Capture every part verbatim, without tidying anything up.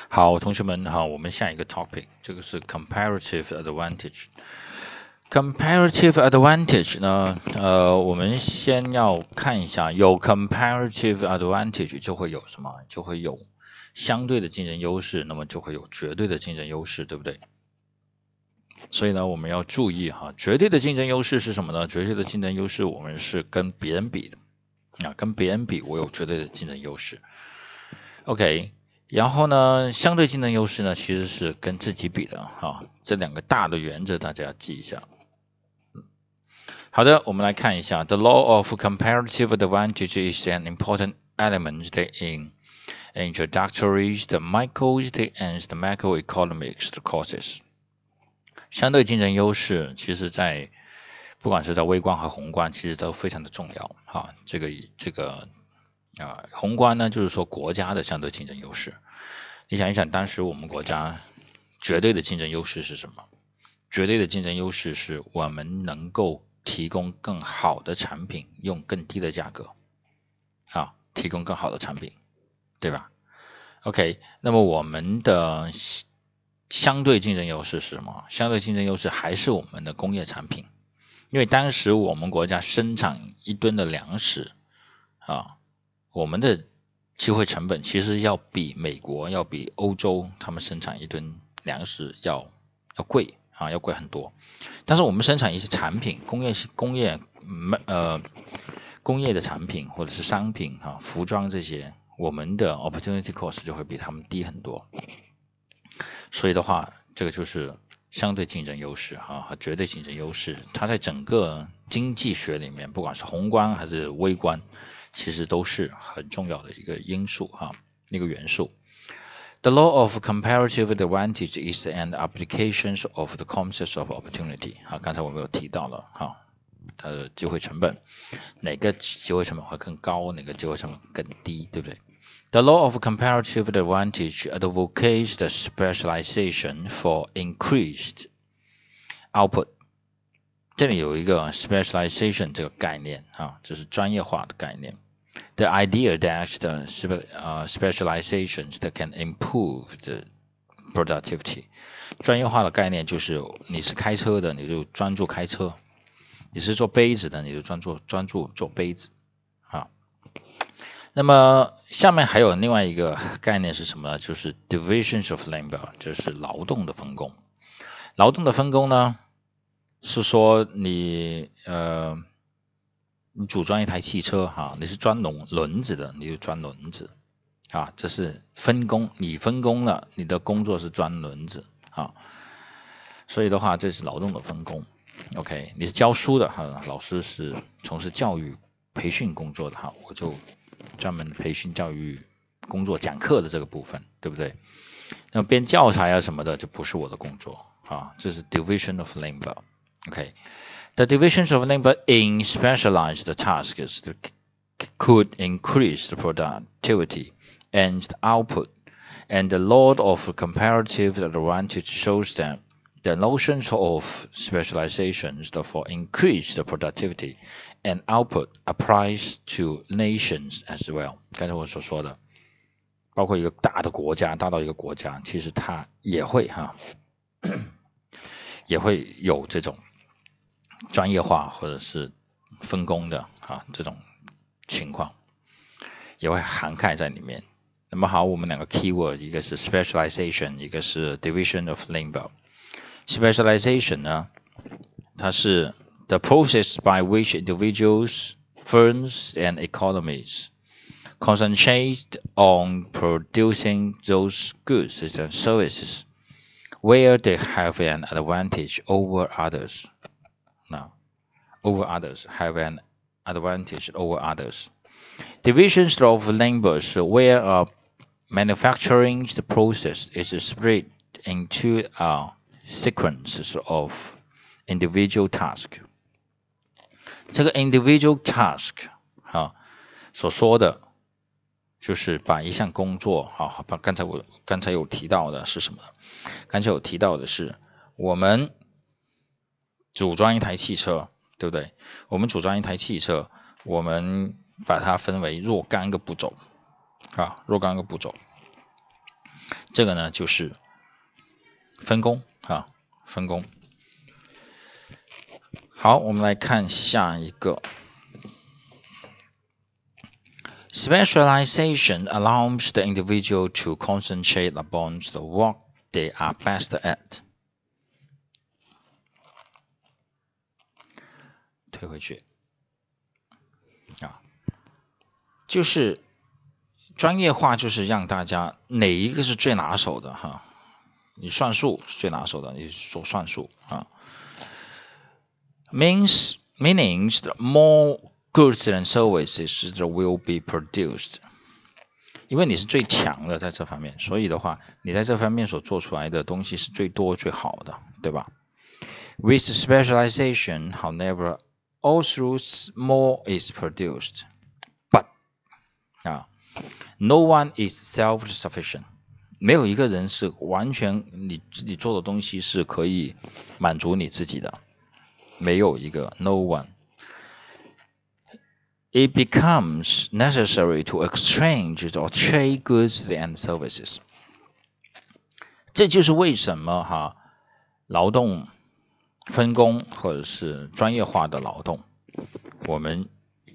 好，同学们好，我们下一个 topic， 这个是 comparative advantage。comparative advantage 呢，呃，我们先要看一下，有 comparative advantage 就会有什么？就会有相对的竞争优势，那么就会有绝对的竞争优势，对不对？所以呢，我们要注意哈，绝对的竞争优势是什么呢？绝对的竞争优势，我们是跟别人比的啊，跟别人比，我有绝对的竞争优势。OK。然后呢，相对竞争优势呢，其实是跟自己比的哈，这两个大的原则大家要记一下。好的，我们来看一下 ，The law of comparative advantage is an important element in introductory, the micro, and the macroeconomics courses。相对竞争优势，其实在不管是在微观和宏观，其实都非常的重要哈。这个这个。啊、呃，宏观呢，就是说国家的相对竞争优势。你想一想，当时我们国家绝对的竞争优势是什么？绝对的竞争优势是我们能够提供更好的产品，用更低的价格，啊，提供更好的产品，对吧 ？OK， 那么我们的相对竞争优势是什么？相对竞争优势还是我们的工业产品，因为当时我们国家生产一吨的粮食，啊。我们的机会成本其实要比美国、要比欧洲他们生产一吨粮食要要贵啊，要贵很多。但是我们生产一些产品，工业工业呃工业的产品或者是商品啊，服装这些，我们的 opportunity cost 就会比他们低很多。所以的话，这个就是相对竞争优势啊和绝对竞争优势，它在整个经济学里面，不管是宏观还是微观，其实都是很重要的一个因素哈，一个元素。The law of comparative advantage is an application of the concept of opportunity。好，刚才我们有提到了哈，它的机会成本，哪个机会成本会更高，哪个机会成本更低，对不对？The law of comparative advantage advocates the specialization for increased output。这里有一个 specialization 这个概念啊，这是专业化的概念。The idea that the uh, specializations that can improve the productivity。专业化的概念就是你是开车的，你就专注开车；你是做杯子的，你就专注专注做杯子。啊，那么下面还有另外一个概念是什么呢？就是 divisions of labor， 就是劳动的分工。劳动的分工呢，是说你呃。你组装一台汽车哈，你是装轮轮子的，你就装轮子啊，这是分工，你分工了，你的工作是装轮子啊，所以的话，这是劳动的分工。OK， 你是教书的哈，老师是从事教育培训工作的哈，我就专门培训教育工作讲课的这个部分，对不对？那么编教材啊什么的就不是我的工作啊，这是 division of labor。OK。The divisions of labor in specialized tasks could increase the productivity and the output, and the law of comparative advantage shows that the notions of specializations for increased productivity and output applies to nations as well。刚才我所说的，包括一个大的国家，大到一个国家，其实它也会哈，也会有这种。专业化或者是分工的啊，这种情况也会涵盖在里面。那么好，我们两个 keyword， 一个是 specialization， 一个是 division of labor。specialization 呢，它是 the process by which individuals, firms, and economies concentrate on producing those goods and services where they have an advantage over others. Now, over others, have an advantage over others. Divisions of labor where a manufacturing process is split into a sequence of individual tasks. 这个 individual task 啊，所说的就是把一项工作啊，把刚才我刚才有提到的是什么？刚才有提到的是我们组装一台汽车，对不对？我们组装一台汽车，我们把它分为若干个步骤啊，若干个步骤。 这个呢就是分工啊，分工。好，我们来看下一个。Specialization allows the individual to concentrate upon the work they are best at. 推回去啊，就是专业化，就是让大家哪一个是最拿手的哈？你算术是最拿手的，你做算术啊。Means meanings that more goods and services that will be produced. 因为你是最强的在这方面，所以的话，你在这方面所做出来的东西是最多最好的，对吧 ？With specialization, however, also more is produced, but 啊 ，no one is self-sufficient. 没有一个人是完全你自己做的东西是可以满足你自己的，没有一个 no one. It becomes necessary to exchange or trade goods and services. 这就是为什么哈，劳动分工或者是专业化的劳动，我们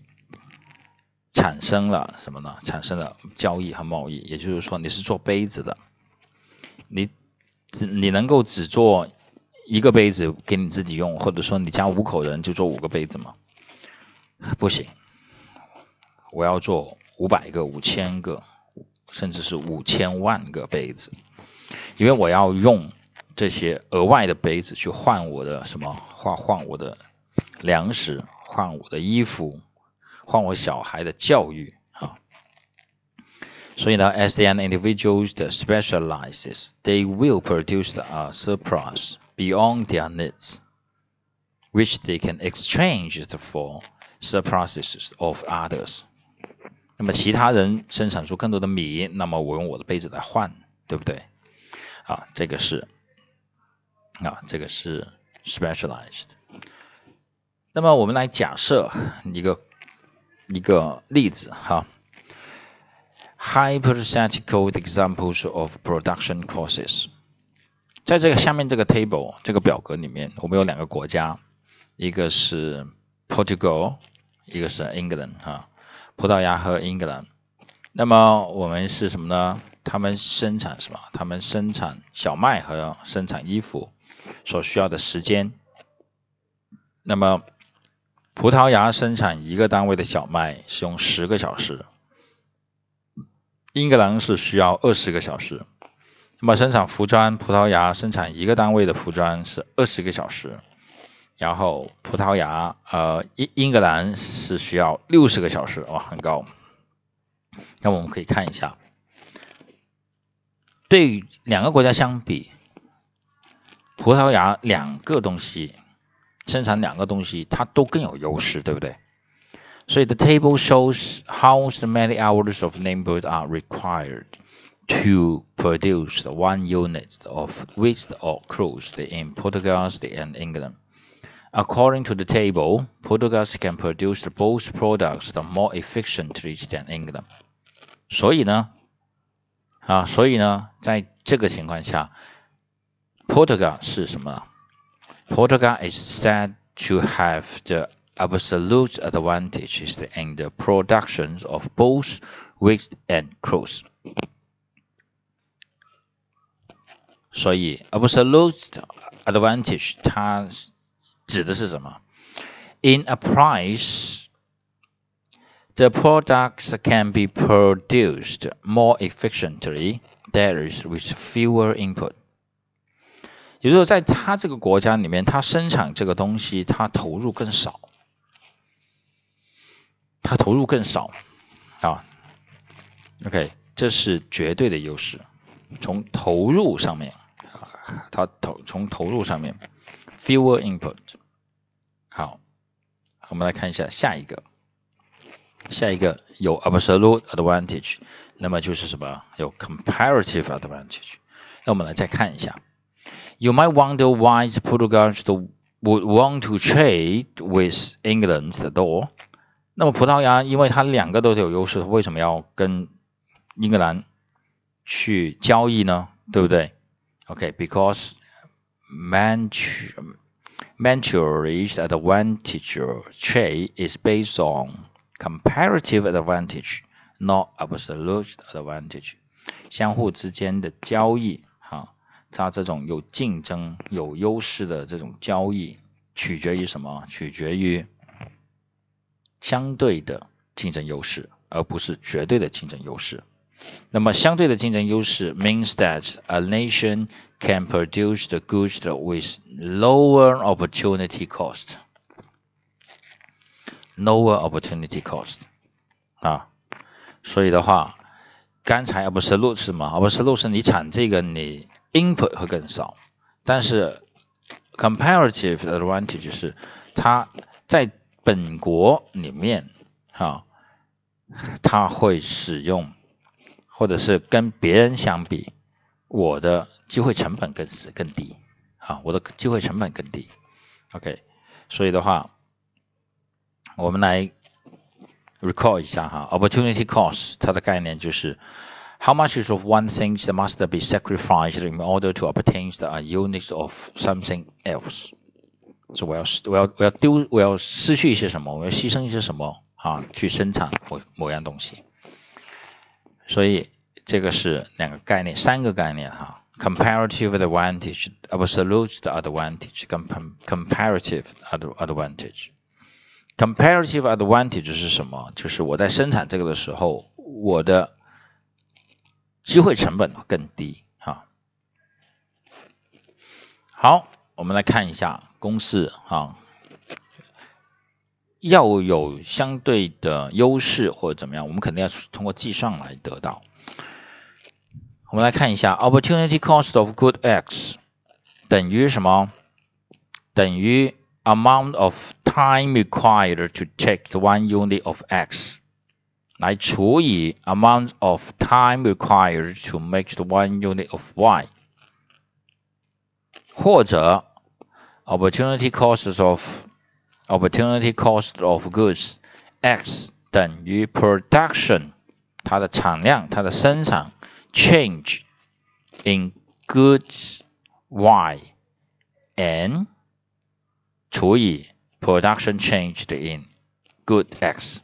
产生了什么呢？产生了交易和贸易。也就是说，你是做杯子的，你只你能够只做一个杯子给你自己用，或者说你家五口人就做五个杯子吗？不行。我要做五百个、五千个，甚至是五千万个杯子，因为我要用这些额外的杯子去换我的什么？换换我的粮食，换我的衣服，换我小孩的教育啊。所以呢 ，as an individual that specializes, they will produce a surplus beyond their needs, which they can exchange for surpluses of others.那么其他人生产出更多的米，那么我用我的杯子来换，对不对？啊，这个是啊，这个是 specialized。那么我们来假设一个一个例子哈 ，hypothetical examples of production causes。在这个下面这个 table 这个表格里面，我们有两个国家，一个是 Portugal， 一个是 England 哈。葡萄牙和英格兰，那么我们是什么呢？他们生产什么？他们生产小麦和生产衣服所需要的时间。那么葡萄牙生产一个单位的小麦是用十个小时，英格兰是需要二十个小时。那么生产服装，葡萄牙生产一个单位的服装是二十个小时。然后葡萄牙呃英英格兰是需要六十个小时，哇，很高。那我们可以看一下，对于两个国家相比，葡萄牙两个东西生产两个东西，它都更有优势，对不对？所以 the table shows how many hours of labor are required to produce the one unit of wheat or cruise in Portugal and England.According to the table, Portugal can produce both products more efficiently than England. 所以呢，啊，所以呢，在这个情况下 ，Portugal 是什么 ？Portugal is said to have the absolute advantages in the productions of both wheat and cruise. 所以 absolute advantage 它指的是什么 ？In a price, the products can be produced more efficiently, that is, with fewer input. 也就是说，在它这个国家里面，它生产这个东西，它投入更少，它投入更少啊。OK， 这是绝对的优势，从投入上面啊，它投从投入上面 ，fewer input。好，我们来看一下下一个，下一个有 absolute advantage， 那么就是什么？有 comparative advantage。那我们来再看一下 ，You might wonder why Portugal would want to trade with England though。那么葡萄牙因为它两个都有优势，为什么要跟英格兰去交易呢？对不对 ？OK, because managed advantage trade is based on comparative advantage, not absolute advantage. 相互之间的交易，哈，它这种有竞争、有优势的这种交易，取决于什么？取决于相对的竞争优势，而不是绝对的竞争优势。那么相对的竞争优势 means that a nation can produce the goods with lower opportunity cost. Lower opportunity cost 啊，所以的话，刚才 absolute 是什么 ？absolute 是你产这个你 input 会更少，但是 comparative advantage 是它在本国里面啊，它会使用。或者是跟别人相比，我的机会成本更更低，啊，我的机会成本更低 ，OK， 所以的话，我们来 recall 一下哈 ，opportunity cost 它的概念就是 how much of one thing that must be sacrificed in order to obtain a unit of something else， 所以我要我要我要丢我要失去一些什么，我要牺牲一些什么啊，去生产某某样东西。所以这个是两个概念，三个概念哈 ，comparative advantage, absolute advantage, comparative advantage. comparative advantage 是什么？就是我在生产这个的时候，我的机会成本更低哈。好，我们来看一下公式哈。要有相对的优势或者怎么样，我们肯定要通过计算来得到。我们来看一下 ，opportunity cost of good X 等于什么？等于 amount of time required to take one unit of X 来除以 amount of time required to make the one unit of Y， 或者 opportunity costs of opportunity cost of goods X 等于 production 它的产量，它的生产 change in goods Y and 除以 production changed in good X。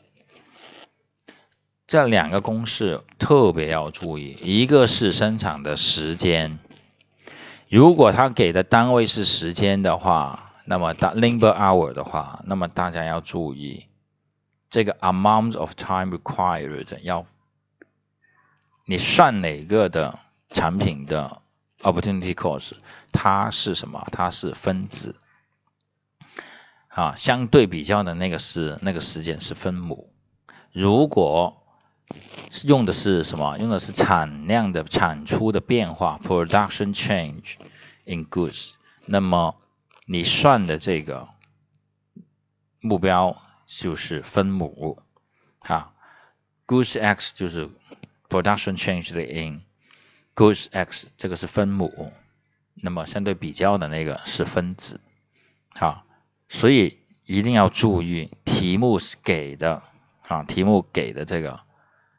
这两个公式特别要注意，一个是生产的时间，如果它给的单位是时间的话，那么 labor hour 的话，那么大家要注意，这个 amount of time required 要你算哪个的产品的 opportunity cost， 它是什么？它是分子啊，相对比较的那个是那个时间是分母。如果用的是什么？用的是产量的产出的变化 production change in goods， 那么你算的这个目标就是分母哈 goods X 就是 production change in goods X， 这个是分母，那么相对比较的那个是分子哈，所以一定要注意题目给的啊，题目给的这个，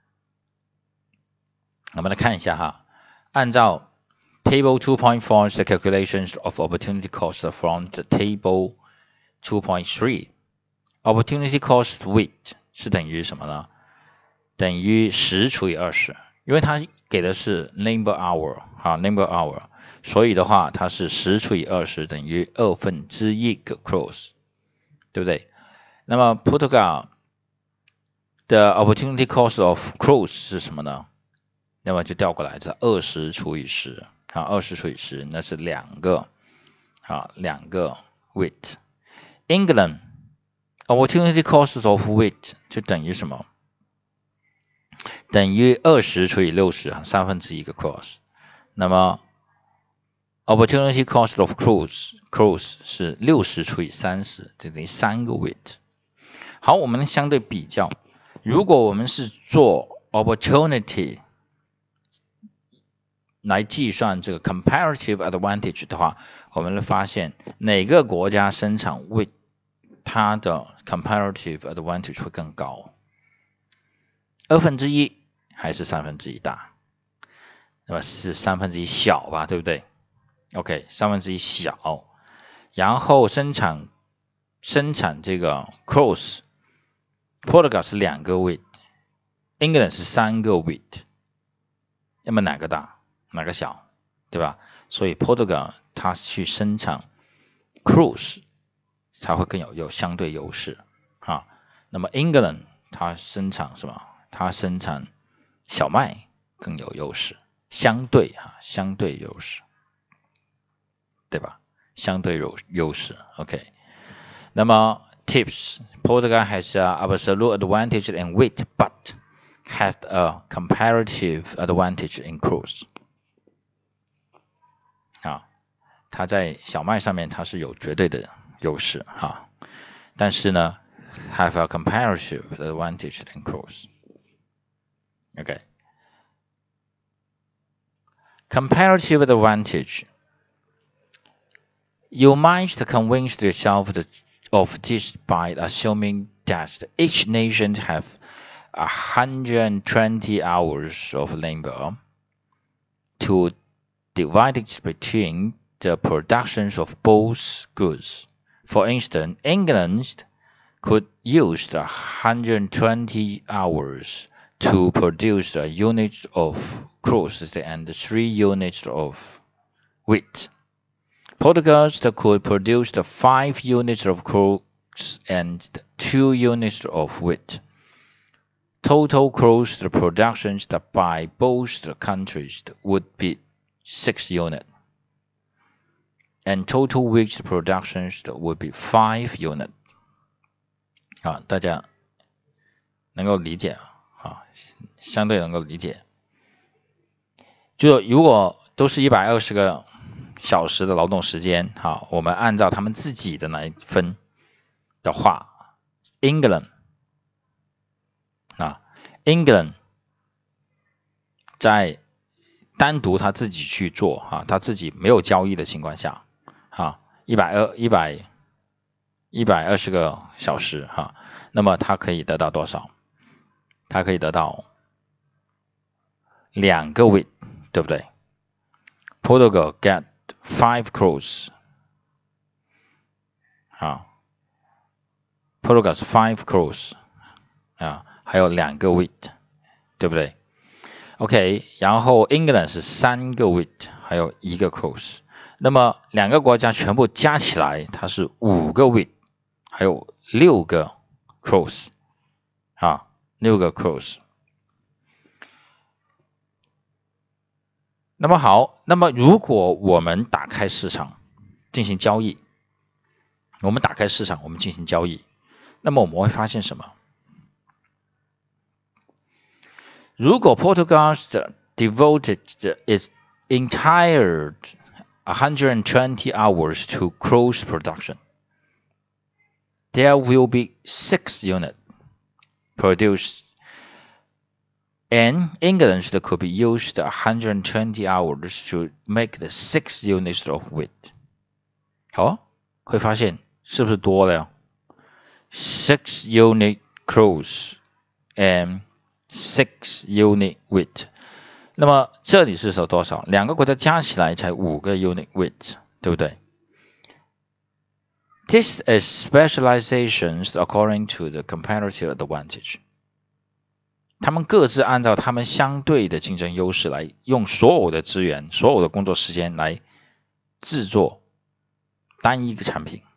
我们来看一下哈，按照Table two point four is the calculations of opportunity cost from the table two point three. Opportunity cost weight 是等于什么呢？等于十除以二十，因为它给的是 labor hour 啊 labor hour， 所以的话它是十除以二十等于二分之一个 cross， 对不对？那么 Portugal 的 opportunity cost of cross 是什么呢？那么就调过来，是二十除以十啊，二十除以十，那是两个啊，两个 weight。England opportunity cost of weight 就等于什么？等于二十除以六十，三分之一个 cross。那么 opportunity cost of cross cross 是六十除以三十，就等于三个 weight。好，我们相对比较，如果我们是做 opportunity来计算这个 comparative advantage 的话，我们会发现哪个国家生产为它的 comparative advantage 会更高，二分之一还是三分之一大？ 那么是三分之一小吧，对不对 ？OK， 三分之一小，然后生产生产这个 cross，Portugal 是两个 wheat，England 是三个 wheat， 那么哪个大，哪个小，对吧？所以 Portugal 它去生产 cross， 它会更有有相对优势啊。那么 England 它生产什么？它生产小麦更有优势，相对哈，相对优势，对吧？相对有优势 ，OK。那么 Tips Portugal has an absolute advantage in wheat, but has a comparative advantage in cross。啊，它在小麦上面它是有绝对的优势哈，但是呢 ，have a comparative advantage in cross。OK。Comparative advantage. You might convince yourself of this by assuming that each nation has one hundred twenty hours of labor to divide it between the productions of both goods. For instance, England could use the one hundred twenty hours to produce a unit of cross and three units of wheat. Portugal could produce the five units of cross and two units of wheat. Total cross productions by both countries would be six units, and total wheat productions would be five units. 啊，大家能够理解啊，相对能够理解。就如果都是一百二十个小时的劳动时间，好，我们按照他们自己的来分的话 ，England 啊 ，England 在单独他自己去做哈，他自己没有交易的情况下，哈，一百二一百一百二十个小时哈，那么他可以得到多少？他可以得到两个 wheat， 对不对 ？Portugal get five cross， 啊 ，Portugal 是 five cross， 啊，还有两个 wheat， 对不对 ？OK， 然后 England 是三个 wheat， 还有一个 cross， 那么两个国家全部加起来，它是五个 wheat， 还有六个 cross， 啊，六个 cross。那么好，那么如果我们打开市场进行交易，我们打开市场，我们进行交易，那么我们会发现什么？如果 Portugal devoted its entire one hundred twenty hours to cross production, there will be six units produced, and England could be used one hundred twenty hours to make the six units of wheat. 好，会发现是不是多了呀 ？Six unit cross and six unit wheat。那么这里是说多少？两个国家加起来才五个 unit wheat， 对不对 ？This is specializations according to the comparative advantage。他们各自按照他们相对的竞争优势来用所有的资源、所有的工作时间来制作单一个产品。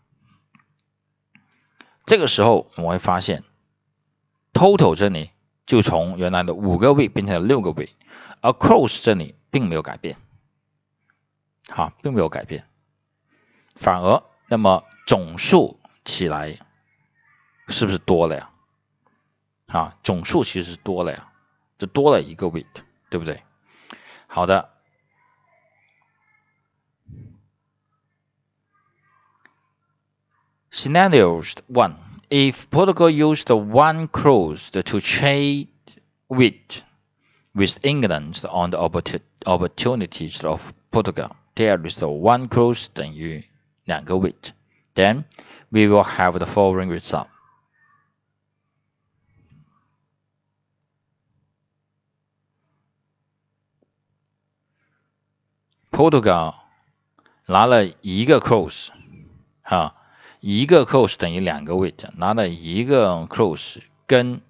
这个时候我们会发现 ，total 这里就从原来的五个 wheat 变成了六个 wheat， 而 cross 这里并没有改变，好，并没有改变，反而那么总数起来是不是多了呀？啊，总数其实是多了呀，就多了一个 wheat， 对不对？好的。Scenarios one. If Portugal used one cross to trade wheat with England on the opportunities of Portugal, there is one cross 等于两个 wheat. Then we will have the following result. Portugal 拿了一个 cross 啊，一个 cross 等于两个 weight， 拿了一个 cross 跟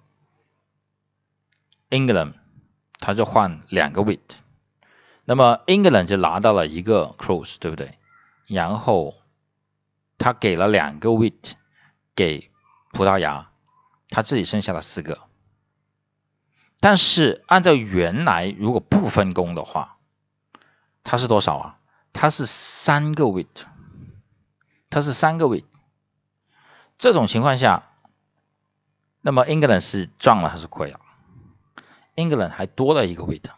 England 他就换两个 weight， 那么 England 就拿到了一个 cross， 对不对？然后他给了两个 weight 给葡萄牙，他自己剩下了四个。但是按照原来如果不分工的话，它是多少啊？它是三个 weight， 它是三个 weight。这种情况下，那么 England 是赚了还是亏了 ？England 还多了一个 weight，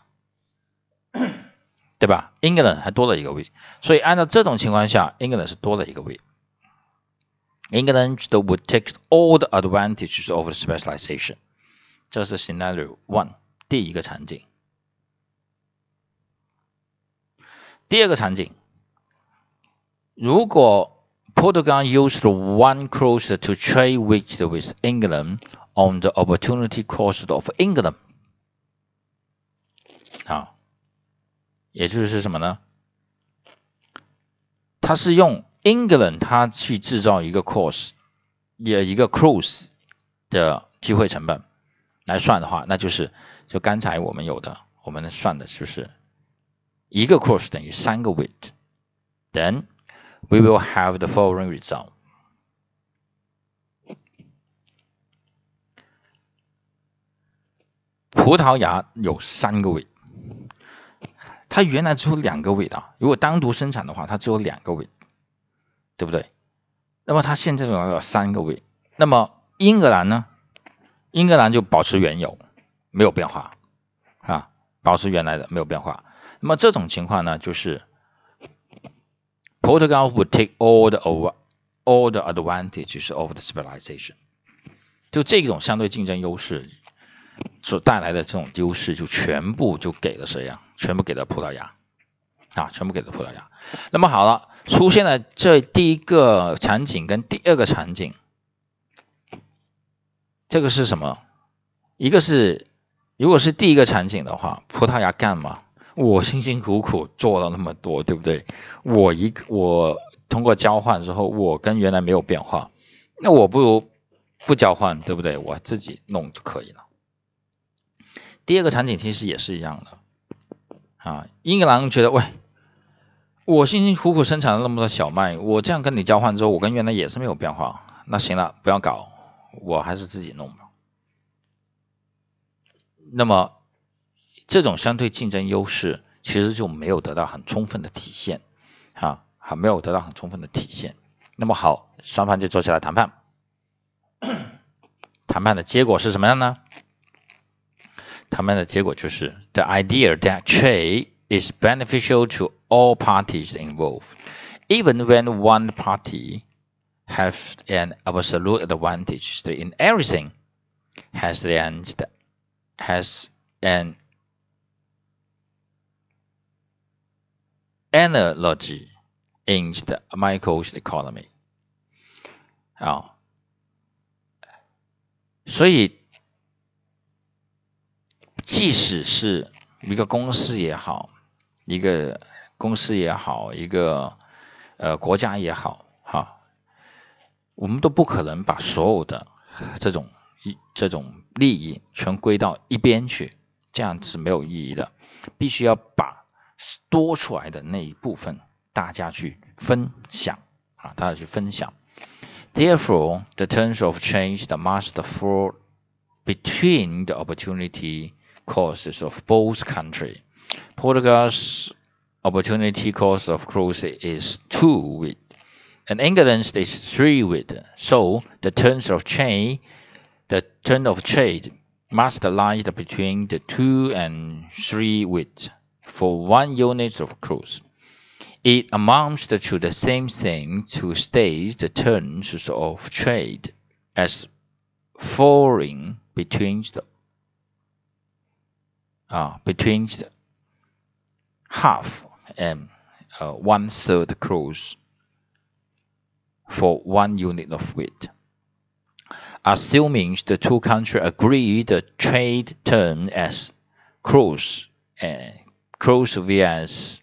对吧 ？England 还多了一个 weight， 所以按照这种情况下 ，England 是多了一个 weight。England would take all the advantages of the specialization。这是 scenario one 第一个场景。第二个场景，如果 Portugal used one cross to trade with with England on the opportunity cost of England， 啊，也就是什么呢？它是用 England 它去制造一个 course， 也一个 cross 的机会成本。来算的话，那就是就刚才我们有的，我们算的就是一个 cross 等于三个 weight。Then we will have the following result。葡萄牙有三个 weight， 它原来只有两个 weight 啊，如果单独生产的话，它只有两个 weight， 对不对？那么它现在有三个 weight， 那么英格兰呢？英格兰就保持原有，没有变化啊，保持原来的没有变化。那么这种情况呢，就是 Portugal would take all the all the advantages of the specialization。就这种相对竞争优势所带来的这种优势，就全部就给了谁啊？全部给了葡萄牙啊，全部给了葡萄牙。那么好了，出现了这第一个场景跟第二个场景。这个是什么？一个是，如果是第一个场景的话，葡萄牙干嘛？我辛辛苦苦做了那么多，对不对？我一个我通过交换之后，我跟原来没有变化，那我不如不交换，对不对？我自己弄就可以了。第二个场景其实也是一样的啊，英格兰觉得，喂，我辛辛苦苦生产了那么多小麦，我这样跟你交换之后，我跟原来也是没有变化，那行了，不要搞。我还是自己弄吧。那么，这种相对竞争优势其实就没有得到很充分的体现，啊，还没有得到很充分的体现。那么好，双方就坐下来谈判。谈判的结果是什么样呢？谈判的结果就是 the idea that trade is beneficial to all parties involved, even when one party have an absolute advantage in everything, has an has an analogy in the microeconomy 啊，所以即使是一个公司也好，一个公司也好，一个呃国家也好，哈。我们都不可能把所有的这种这种利益全归到一边去，这样是没有意义的。必须要把多出来的那一部分大家去分享啊，大家去分享。Therefore, the terms of change that must fall between the opportunity costs of both countries. Portugal's opportunity cost of cruise is two with and England is three with. So the terms of trade, the term of trade must lie between the two and three with for one unit of cruise. It amounts to the same thing to state the terms of trade as falling between the uh, between the half and uh, one third cruise for one unit of weight. Assuming the two countries agree the trade term as cruise and cruise vs